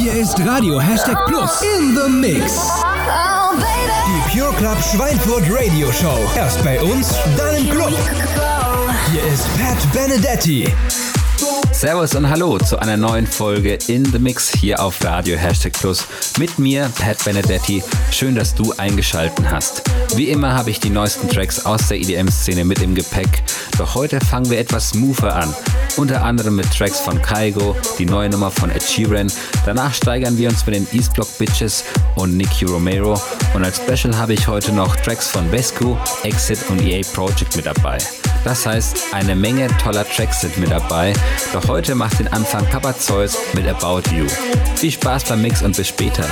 Hier ist Radio #Plus in the Mix. Die Pure Club Schweinfurt Radio Show. Erst bei uns, dann im Club. Hier ist Pat Benedetti. Servus und hallo zu einer neuen Folge In The Mix hier auf Radio #Plus mit mir, Pat Benedetti. Schön, dass du eingeschaltet hast. Wie immer habe ich die neuesten Tracks aus der EDM-Szene mit im Gepäck, doch heute fangen wir etwas smoother an. Unter anderem mit Tracks von Kygo, die neue Nummer von Ed Sheeran. Danach steigern wir uns mit den East Block Bitches und Nicky Romero. Und als Special habe ich heute noch Tracks von Vesco, Exit und EA Project mit dabei. Das heißt, eine Menge toller Tracks sind mit dabei, doch heute macht den Anfang Papa Zeus mit About You. Viel Spaß beim Mix und bis später.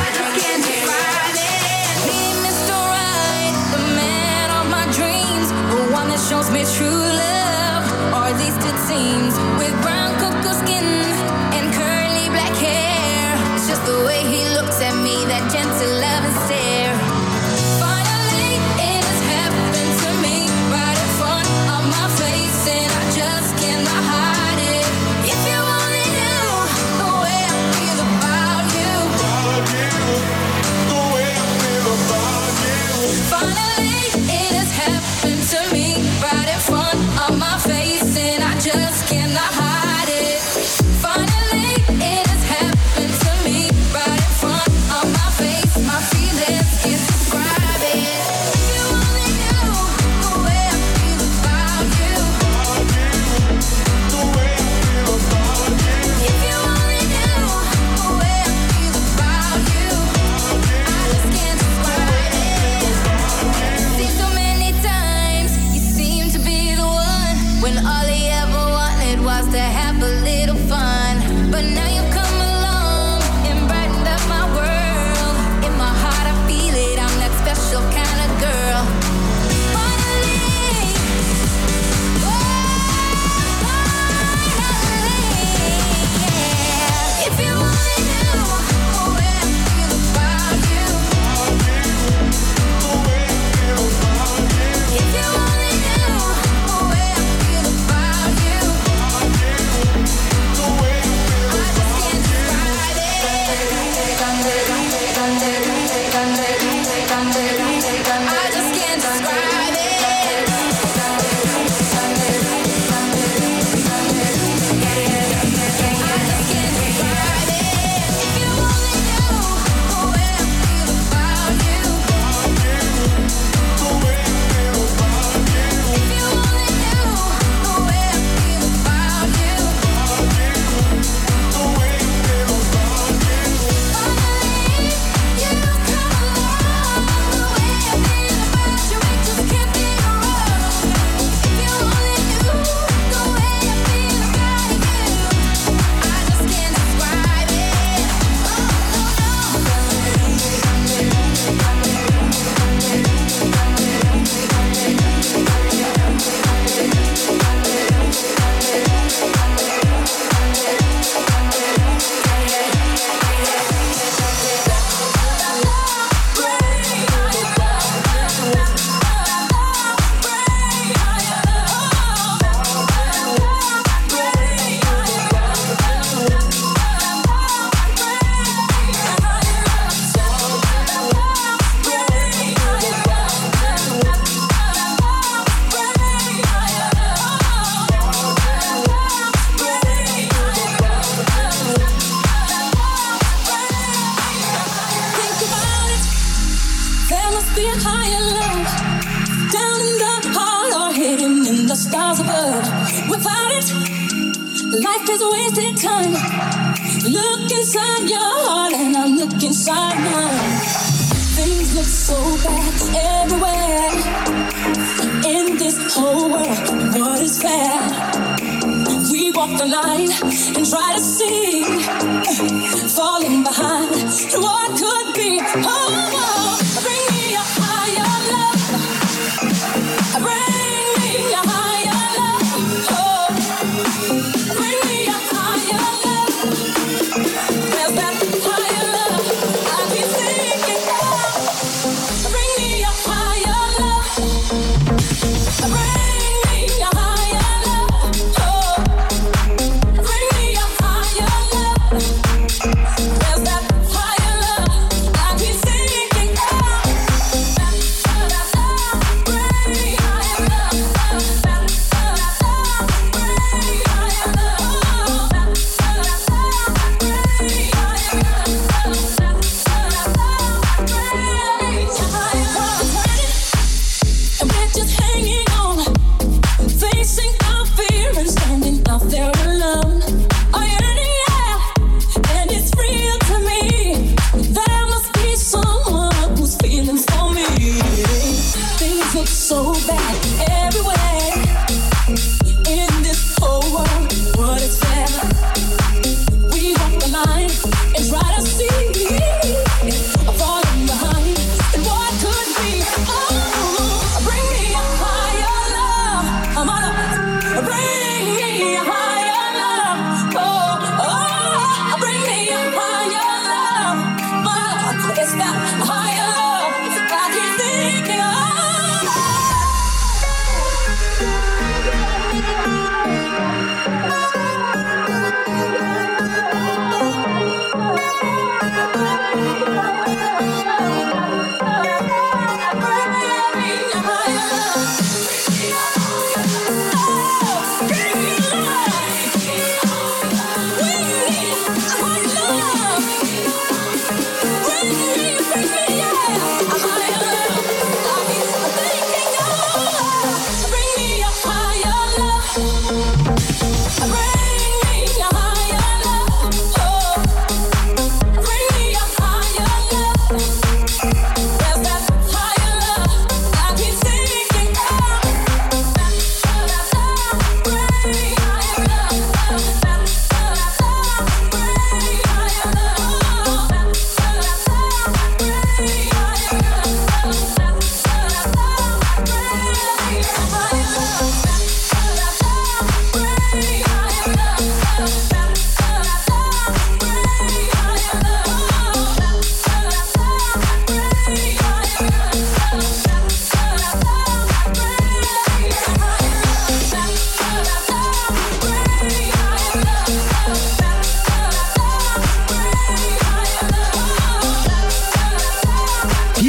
There's that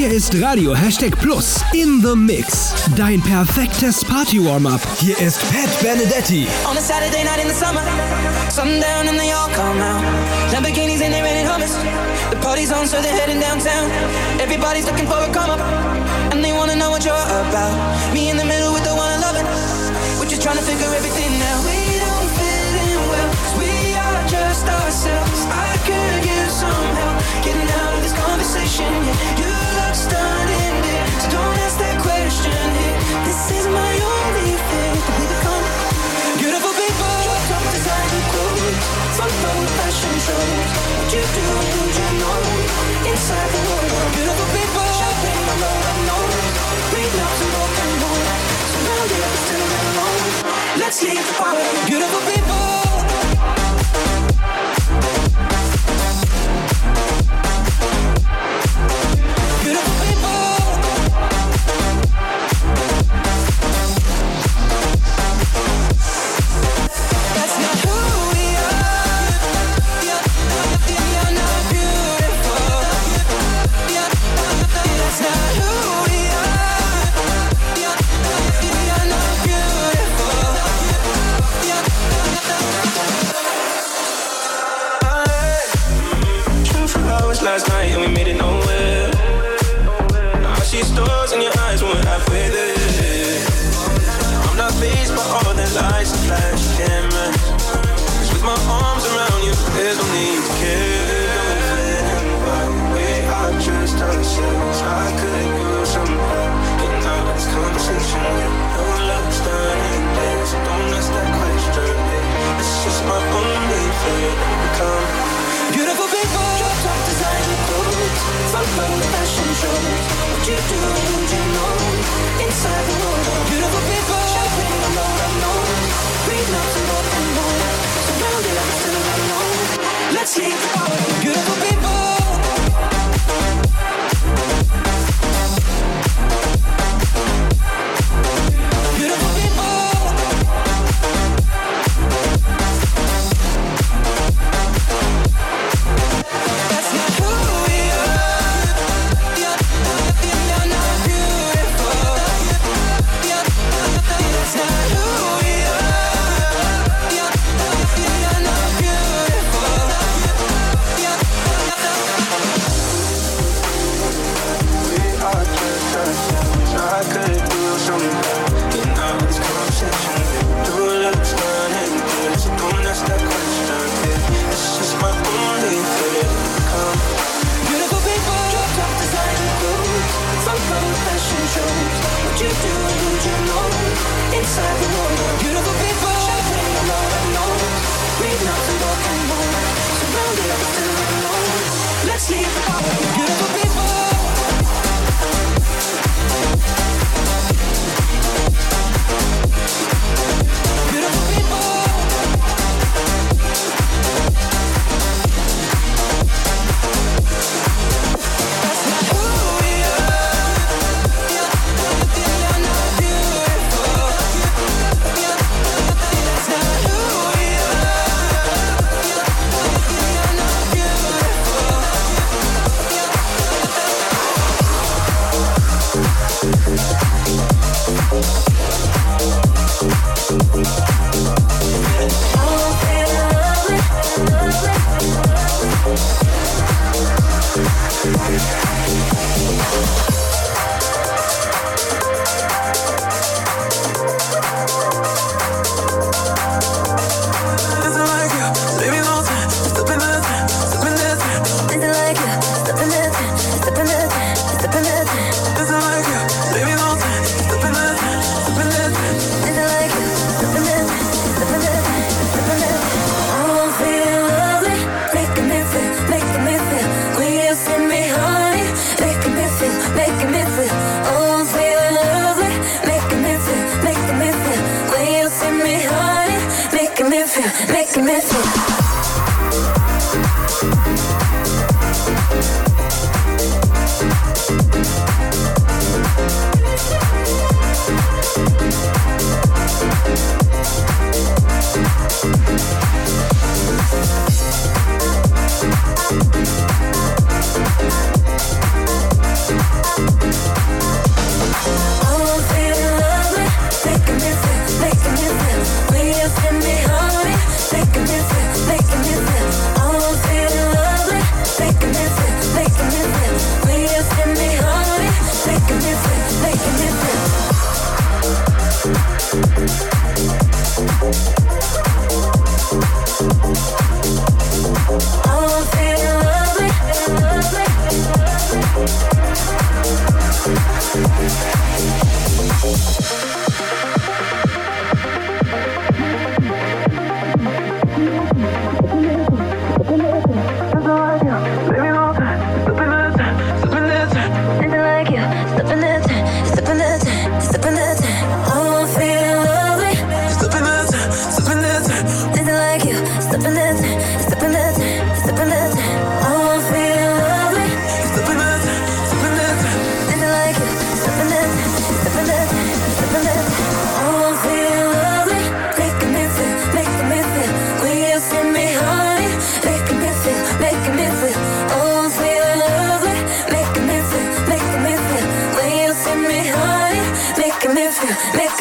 Hier ist Radio #Plus in the Mix. Dein perfektes Party-Warm-Up. Hier ist Pat Benedetti. On a Saturday night in the summer, sundown and they all come out. Lamborghinis and they rented Hummers. The party's on, so they're heading downtown. Everybody's looking for a come up, and they wanna know what you're about. Me in the middle with the one I love it. We're just trying to figure everything out. We don't fit in well, 'cause we are just ourselves. I could use some help getting out of this conversation. Yeah, you look stunning, dear, so don't ask that question here. This is my only fear, that we become beautiful people. Top designer clothes, front row fashion shows. What you do, don't you know? Inside the world, beautiful people. Shopping on the unknown, read up some broken bones. Surrounded but still not alone. Let's leave the party, beautiful people. Beautiful people. That's not who we are. You're not beautiful. That's not who we are. You're not beautiful. 24 hours last night and we made it nowhere. Now I see stars in your eyes when we're halfway there. I'm not fazed by all the lights and flash cameras. 'Cause with my arms around you, there's no need to care. We are just ourselves. I could use some help getting out of this conversation. No love's done in there, so don't ask that question. It's just my only fear that we become beautiful people. Top designer clothes, front row fashion shows. What you do, don't you know? Inside the world, beautiful people. Shopping on the unknown, read notes and broken bones. Surrounded but still not alone. Let's leave the party, beautiful people. Beautiful people. That's not who we are. You're not beautiful. That's not who we are. You're not beautiful.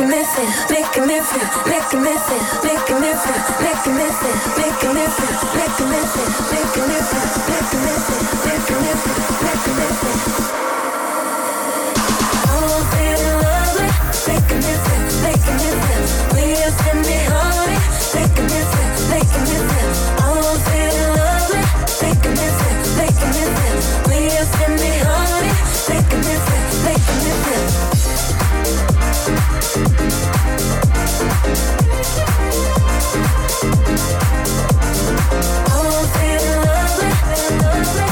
making me feel, making me feel, making me feel, making me feel, making me feel, making me feel, making me feel, making me feel, making me feel, making me feel, making me feel. I'm feeling lovely, making me feel, making me feel. When you send me honey, making me feel, making me feel. I'm feeling lovely, making me feel, making me feel. When you send me honey, making me feel, making me feel. I'm feeling lovely, lovely.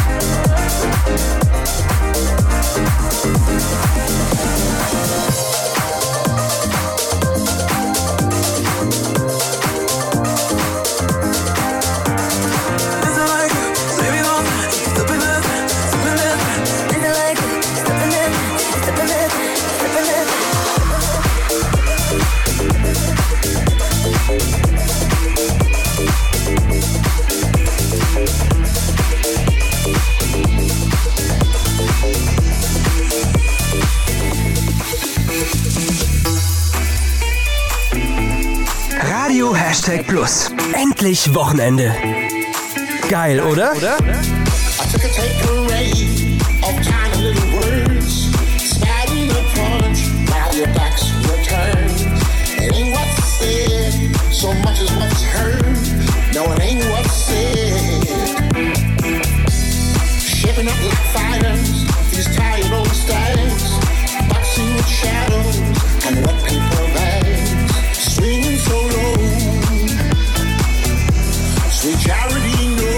Radio #Plus. Endlich Wochenende. Geil, oder? I took a takeaway of tiny little words, spat in the punch while your backs were turned. It ain't what's said, so much as what's heard. No, it ain't what's said. Shaping up like fighters, these tired old stags, boxing with shadows and wet paper bags, swinging so low. Sweet charity, no.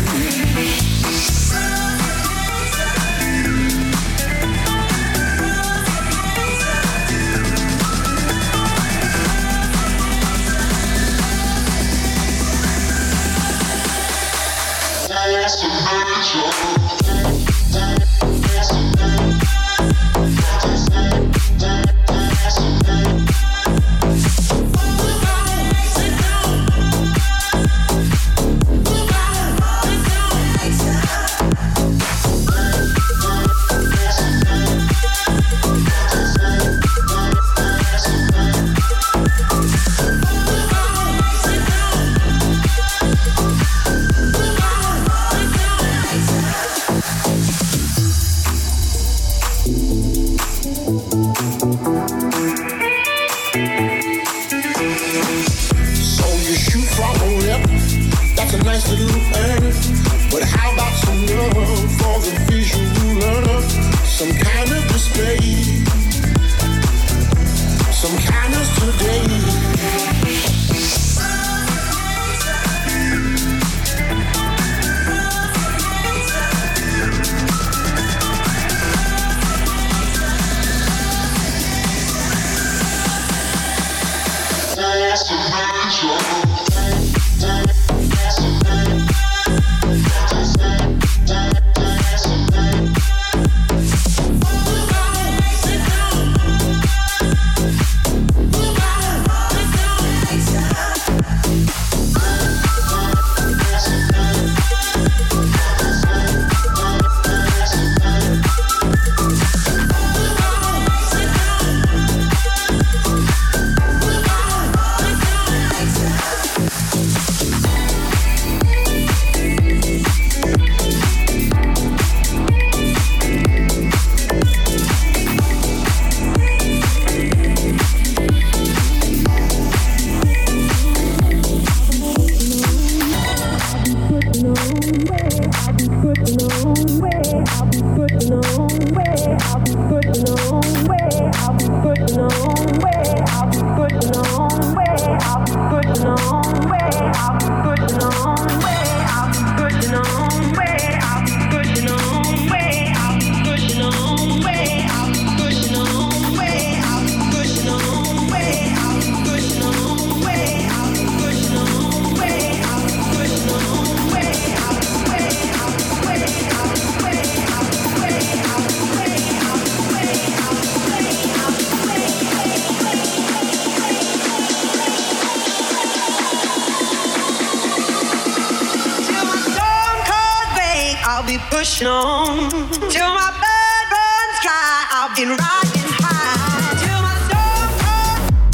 Pushing on till my blood runs dry. I've been riding high till my soul cold.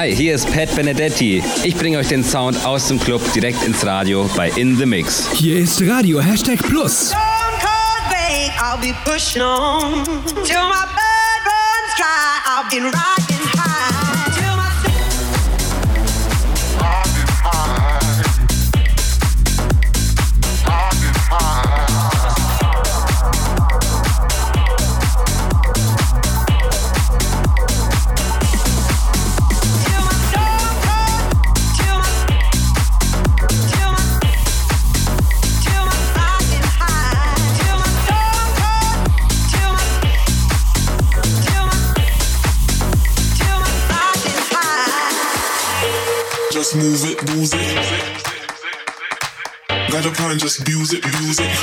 Hi, hier ist Pat Benedetti. Ich bringe euch den Sound aus dem Club direkt ins Radio bei In The Mix. Hier ist Radio #Plus. I'll be pushing on till my blood runs dry. I'll be riding high till my Just move it, lose it. Got a plan, just abuse it, use it.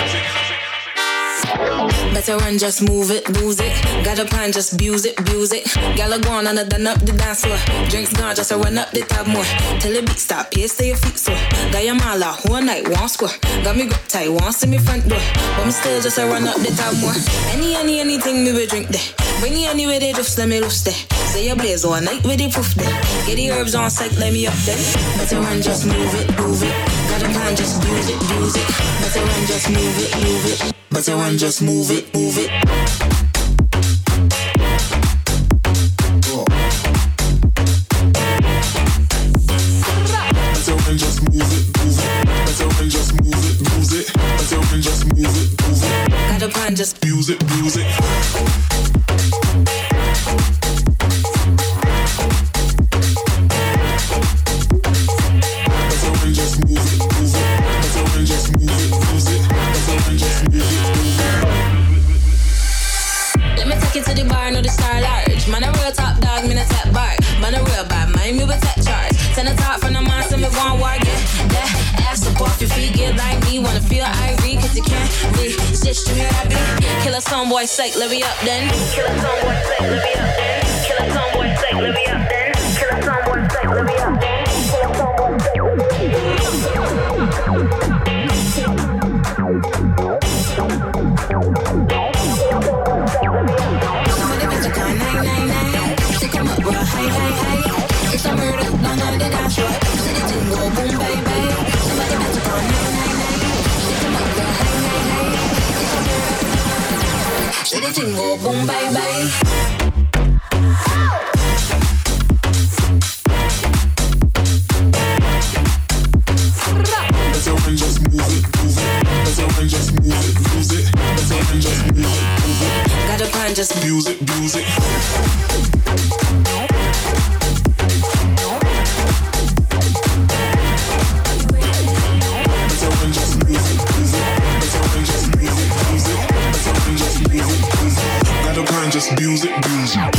Better run, just move it, lose it. Got a plan, just abuse it, abuse it. Gala gone and I done up the dance floor. Drinks gone, just run up the tab more. Till the beat stop, pace to your feet so. Got your mala, whole night, one score. Got me grip tight, one see me front door. But me still just run up the tab more. Anything me will drink there. Bring you anywhere they just let me loose there. Say you blaze all night with the proof there. Get the herbs on site, let me up there. Better run, just move it, move it. Got a plan, just use it, use it. Better run, just move it, move it. Better run, just move it, move it. Better run, just move it, move it. Better run, just move it, lose it. Better run, just move it, move it. Got a plan, just use it, use it. to the bar, no the star large. Man a real top dog, me no tap bar. Man a real bad mind, me with tech charge. Send a top from the mind, send me one war, get that ass up off your feet, get like me. Wanna feel ivory, cause you can't be stitched to hear that beat. Kill a song boy sake, let me up then. Kill a song boy sake, let me up then. Kill a song boy sake, let me up then. Kill a song boy sake, let me up then. Kill a song boy sake, let me up then. It's a murder, don't know the dance floor. See the thing go boom, baby. Somebody better call 999. Stick 'em up, girl, hey. It's a murder. See the thing go boom, baby. Better run, just move it, move it. Better run, just move it, lose it. Better run, just move it, move it. Got a plan, just abuse it, abuse it. Just abuse it, abuse it.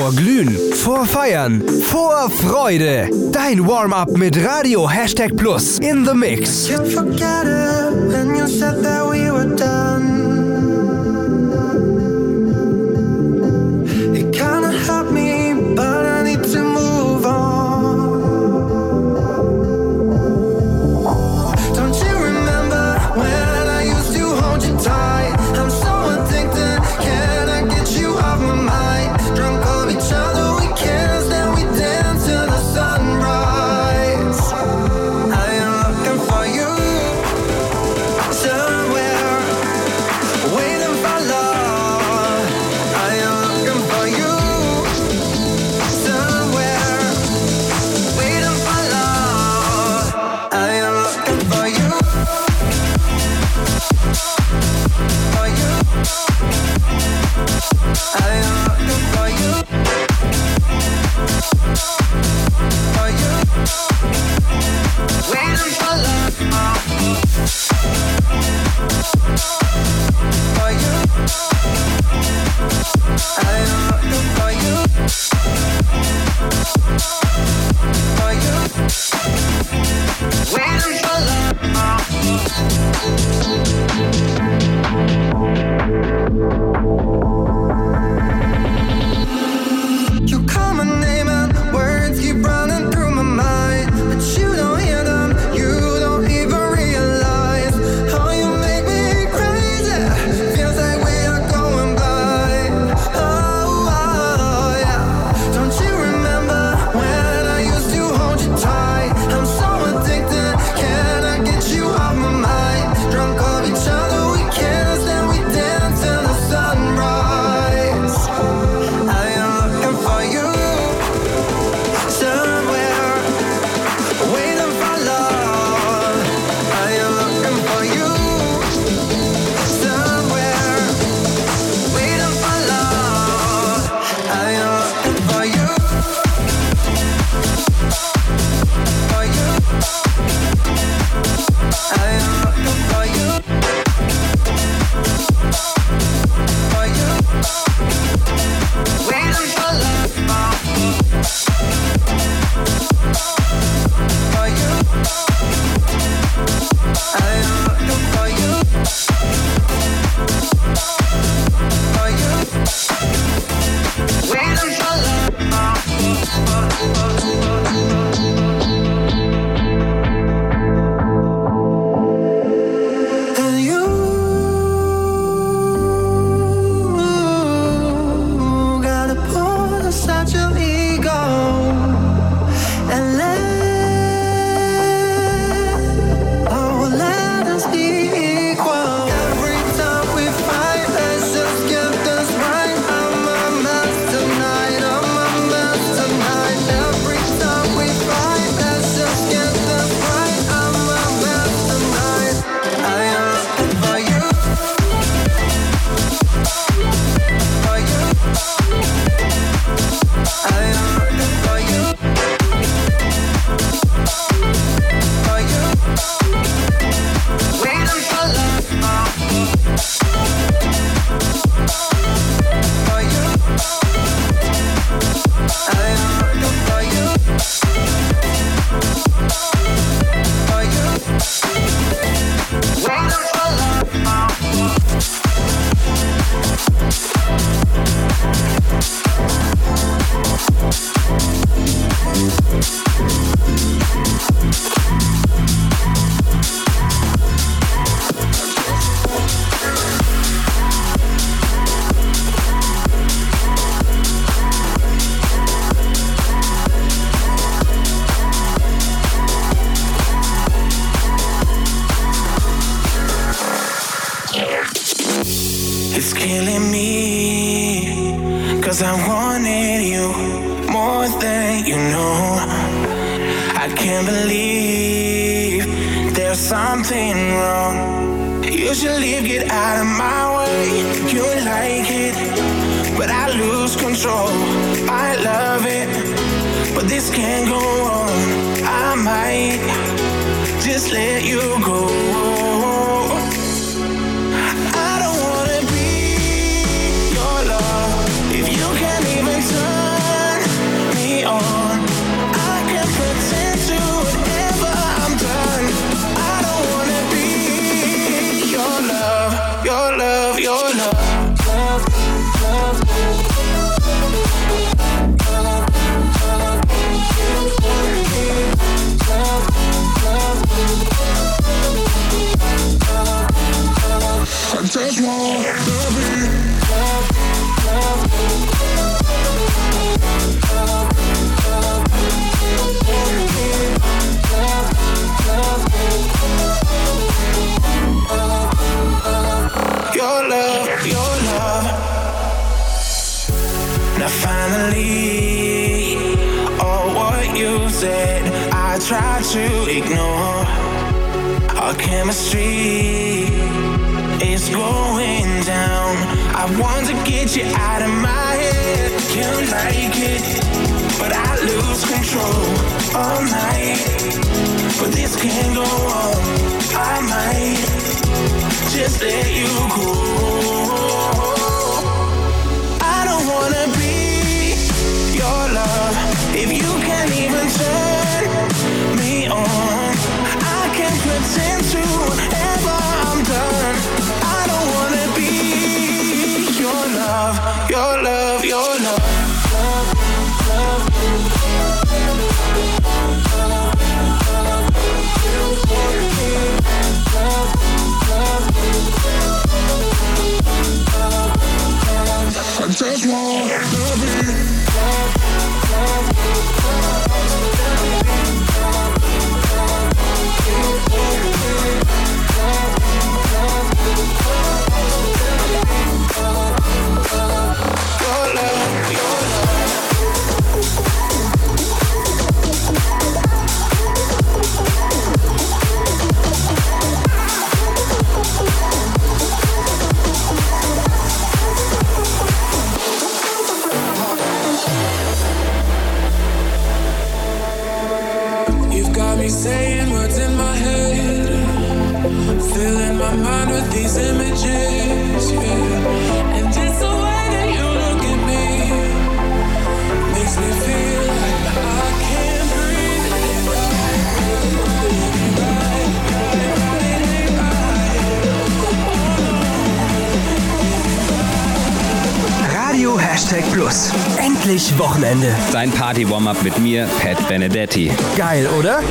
Vor Glühen, vor Feiern, vor Freude. Dein Warm-up mit Radio #Plus in the Mix. You forget it when you said that we were done. It kinda helped me, but I need to move on. Don't you remember when I used to hold you tight? I'm so addicted, can I get you off my mind? Drunk of each other, we kissed, then we danced till the sunrise. I am looking for you somewhere, waiting for love. I am looking for you somewhere, waiting for love. I am looking for you, for you. I am looking for you, for you, waiting for love, for you. I am looking for you, for you, waiting for love. You call my name and words keep running through my mind, but you don't hear them, you don't even realize how you make me crazy. Feels like we are going blind. Oh, yeah. Don't you remember when I used to hold you tight? I'm so addicted, can I get you off my mind? Drunk of each other, we kissed and we danced till the sunrise. I am looking for you somewhere, waiting for love. I am looking for you somewhere, waiting for love. I am looking for you, for you. I am looking for you, for you, waiting for love, for you. I am looking for you, for you, waiting for love. And you gotta pull aside your ego and let us be equal. Every time we fight, let's just get this right. I'm a mess tonight, I'm a mess tonight. Every time we fight, let's just get this right. I'm a mess tonight. I am looking for you, for you. I am looking for you, for you, waiting for love, for you. I am looking for you, for you, waiting for love. It's killing me, 'cause I wanted you more than you know. I can't believe there's something wrong. You should leave, get out of my way. You like it, but I lose control. I love it, but this can't go on. I might just let you go. I don't wanna be your love if you can't even turn try to ignore our chemistry is going down. I want to get you out of my head. Can't like it, but I lose control all night. But this can't go on. I might just let you go. I don't wanna be your love if you can't even turn me on. I can't pretend to ever I'm done. I don't wanna be your love, your love, your love. I just want to be saying what's in my head, filling my mind with these images, yeah. And just the way that you look at me makes me feel like I can't breathe. Radio #Plus. Endlich Wochenende. Dein Party-Warm-Up mit mir, Pat Benedetti. Geil, oder?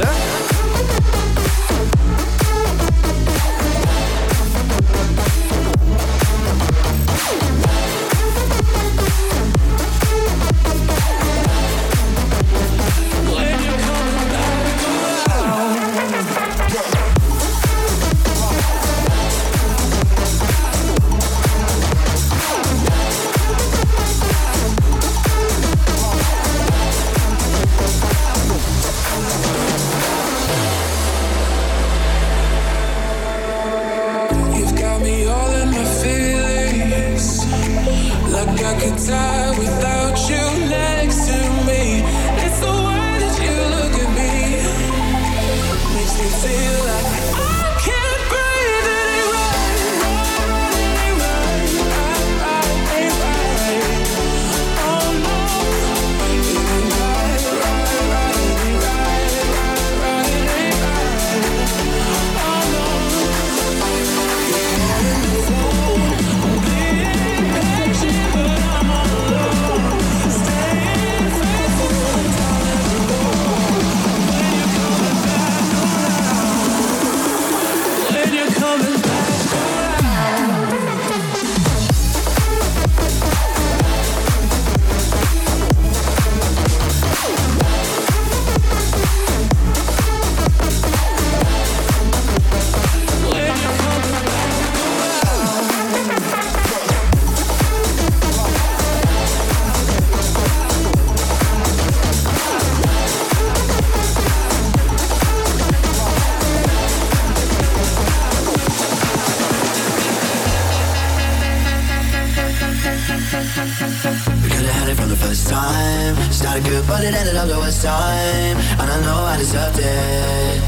But it ended up the worst time, and I know I deserved it.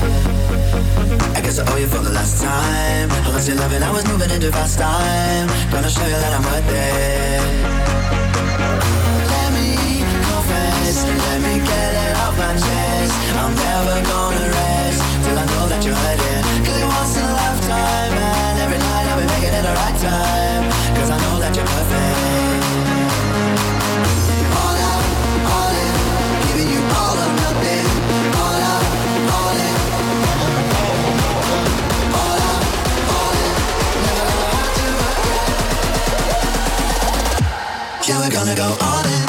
I guess I owe you for the last time. I lost your love and I was moving into fast time. Gonna show you that I'm worth it. Let me confess, let me get it off my chest. I'm never gonna rest till I know that you're hurting. Cause it once in a lifetime, and every night I'll be making it the right time. Cause I know that you're perfect. All out, all in, giving you all or nothing. All out, all in. All out, all in, never gonna have to regret. Yeah, we're gonna go all in.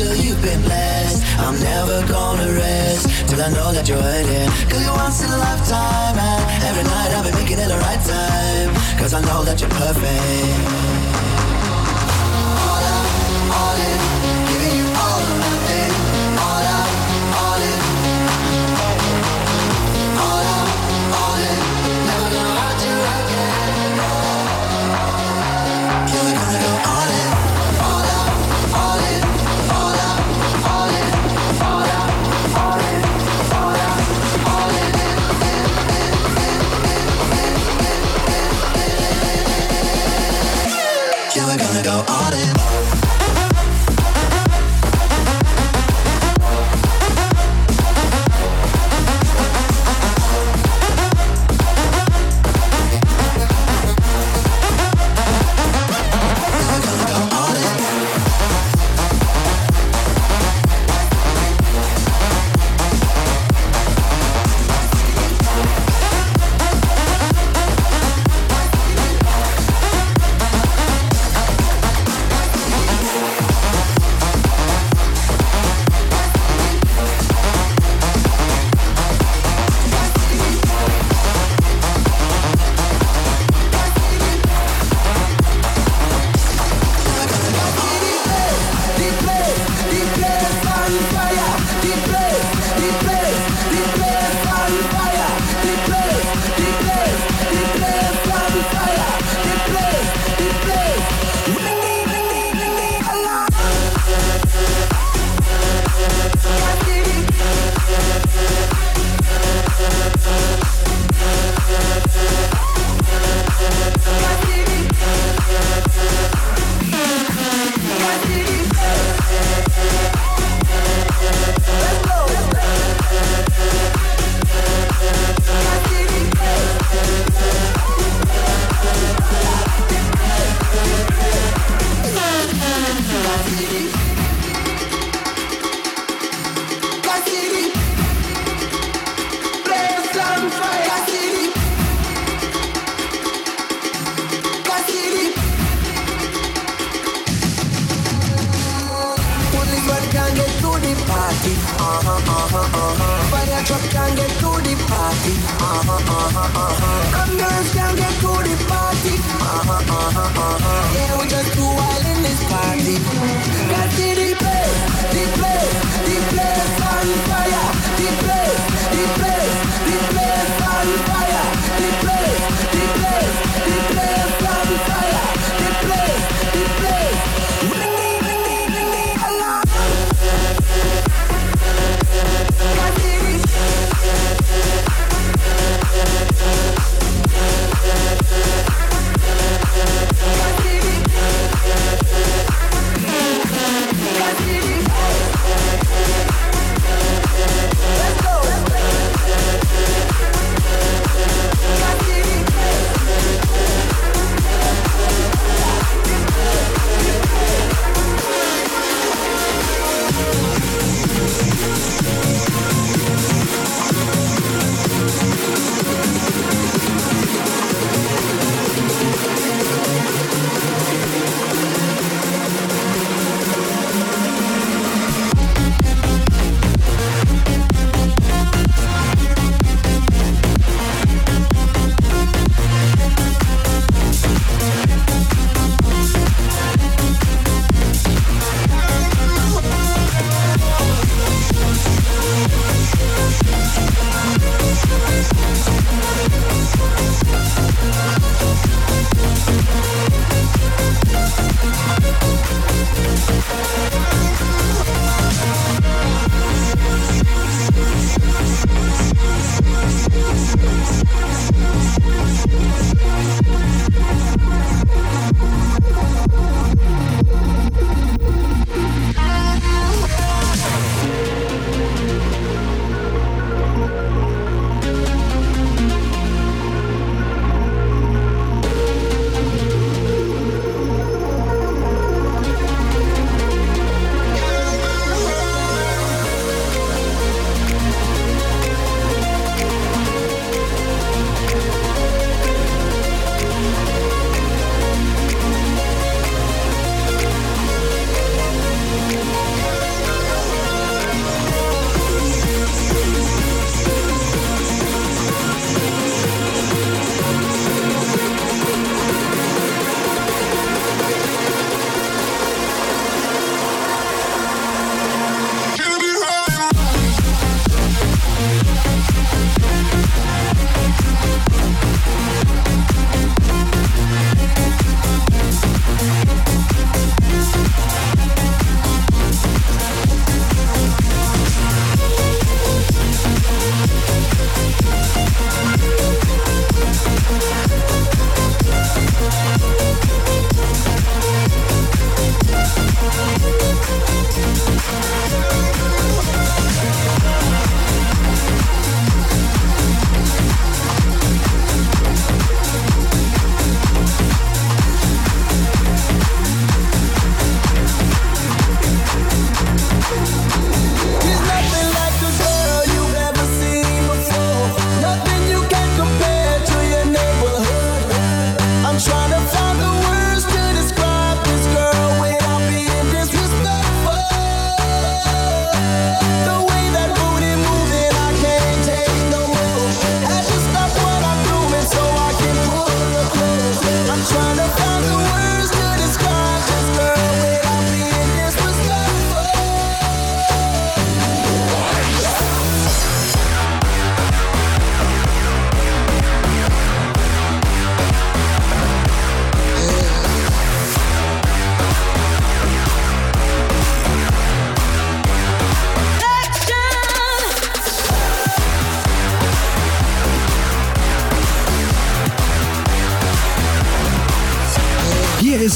till you've been blessed. I'm never gonna rest till I know that you're hurting. Cause you're once in a lifetime, and every night I'll be making it the right time. Cause I know that you're perfect. All out, all in, giving you all or nothing. All out, all in. All out, all in, never gonna hurt you again. Yeah, we're gonna go all in. All out, all in. All out, all in. All out, all in. All out, all in. Yeah, we're gonna go all in.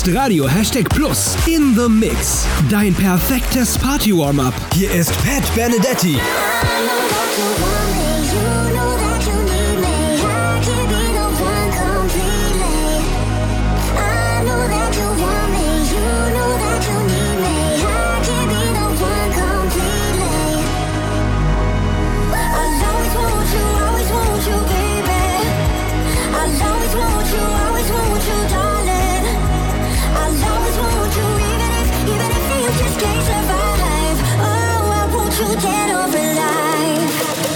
hörst Radio #Plus in the Mix. Dein perfektes Party-Warm-Up. Hier ist Pat Benedetti. Dead or alive.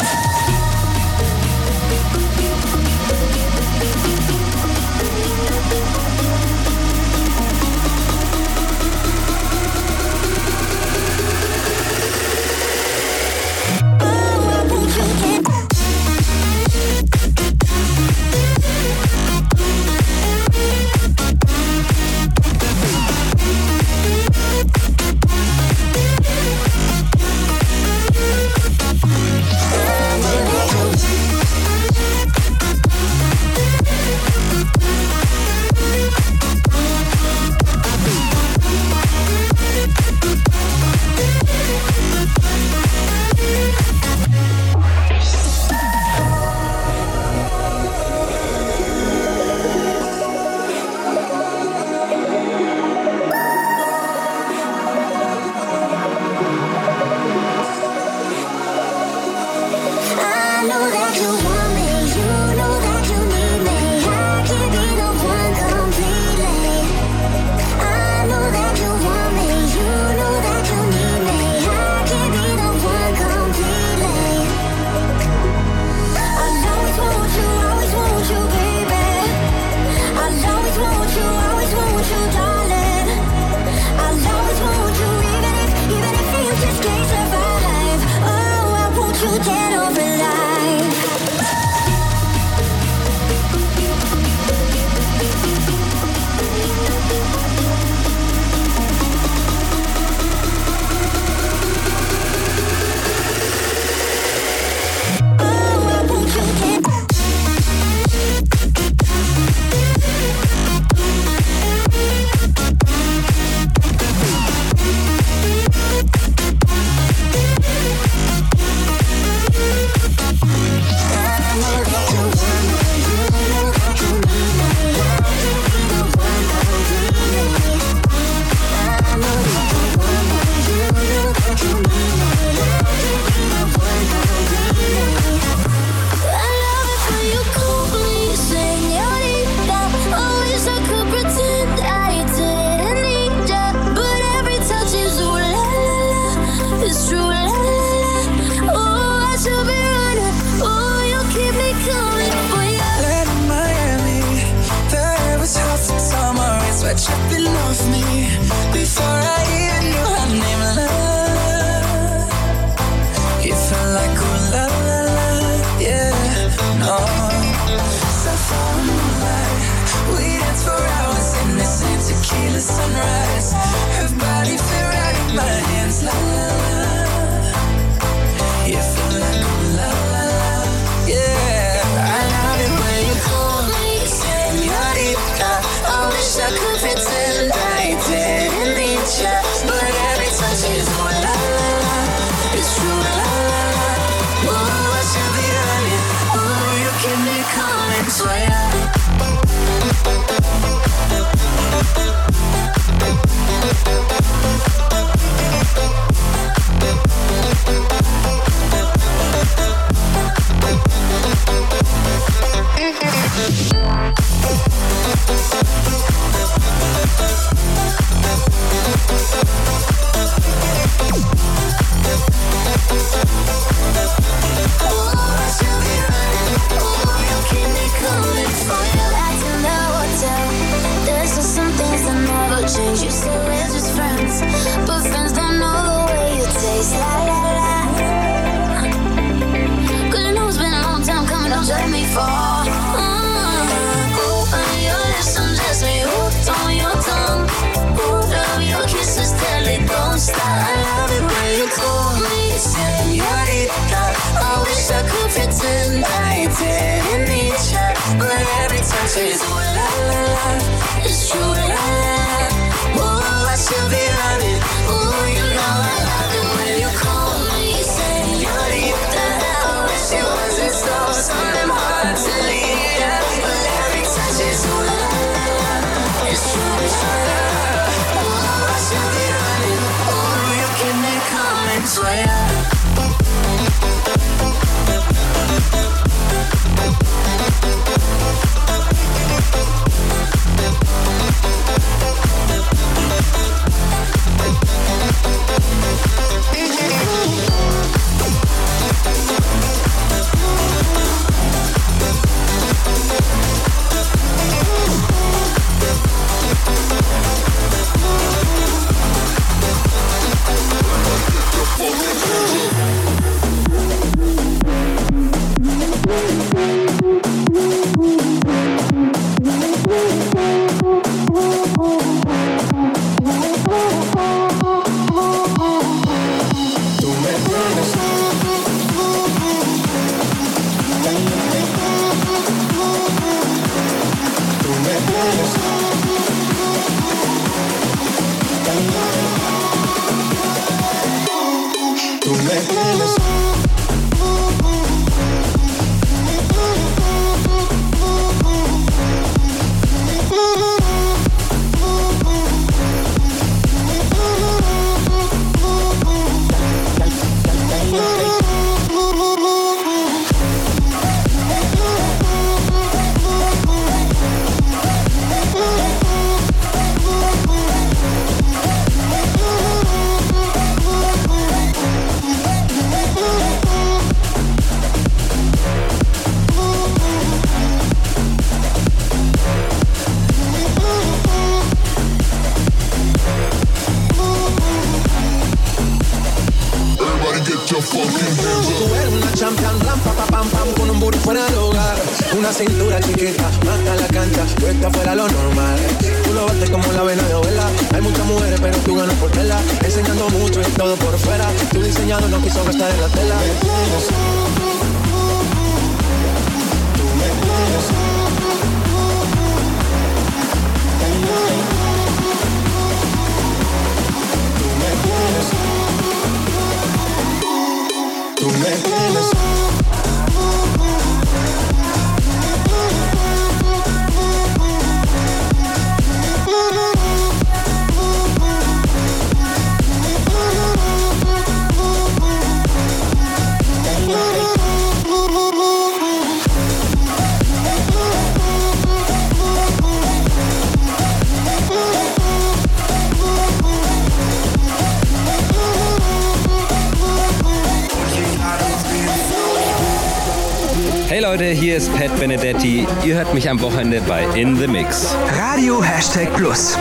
pretend I didn't need you, but every time she's ooh la la la, it's true la la la. dance for ya. Una cintura chiquita, mata la cancha, puesta fuera lo normal. Tú lo bates como la vena de abuela. Hay muchas mujeres, pero tú ganas por tela. Enseñando mucho y todo por fuera. Tu diseñador no quiso gastar en la tela. Tú me tienes. Tú me tienes. Hey Leute, hier ist Pat Benedetti. Ihr hört mich am Wochenende bei In The Mix. Radio #Plus.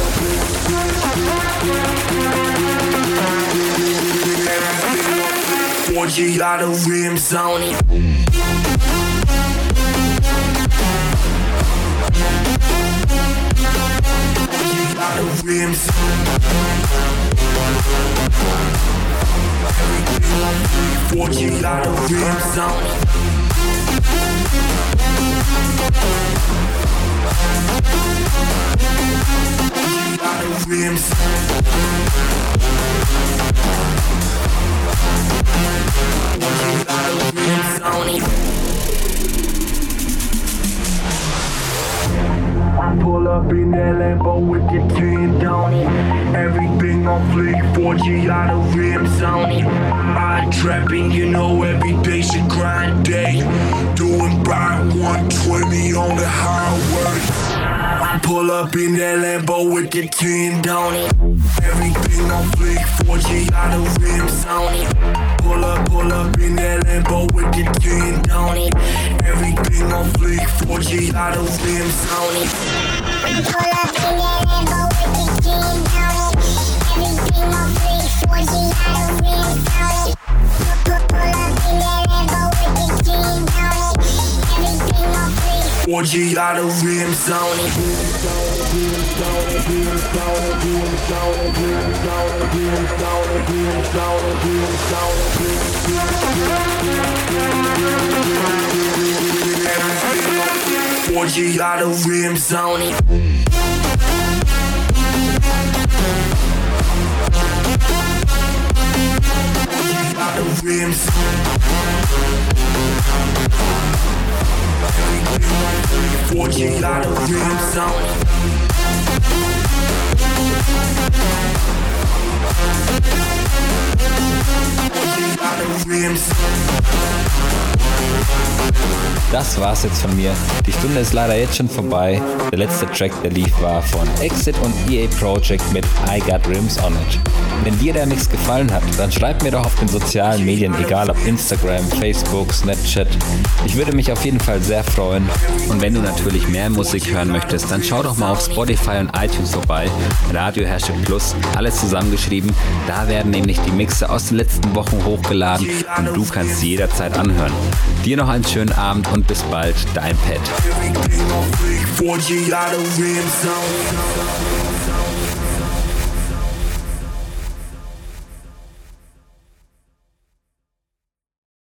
Pull up in that Lambo with the 10 on it. Everything on fleek, 4G out of rims on it. I trapping, you know, every day's a grind day. Doing by 120 on the highway. Pull up in that Lambo with the 10 on it. Everything on fleek, 4G out of rims on it. Pull up in that Lambo with the 10 on it. Everything on fleek, 4G out of rims on it. Pull up in that Lambo with the 10 on it. Everything on fleek, 4G out of rims on it. Pull up in that Lambo with the 10 on it. Everything on fleek, 4G out of rims on it. 4G out of rims on it. Out of rims. 4G out of rims on it. Das war's jetzt von mir. Die Stunde ist leider jetzt schon vorbei. Der letzte Track, der lief, war von Exit und EA Project mit I Got Rims on It. Wenn dir der Mix gefallen hat, dann schreib mir doch auf den sozialen Medien, egal ob Instagram, Facebook, Snapchat. Ich würde mich auf jeden Fall sehr freuen. Und wenn du natürlich mehr Musik hören möchtest, dann schau doch mal auf Spotify und iTunes vorbei. Radio #Plus, alles zusammengeschrieben. Da werden nämlich die Mixe aus den letzten Wochen hochgeladen und du kannst sie jederzeit anhören. Dir noch einen schönen Abend und bis bald, dein Pat.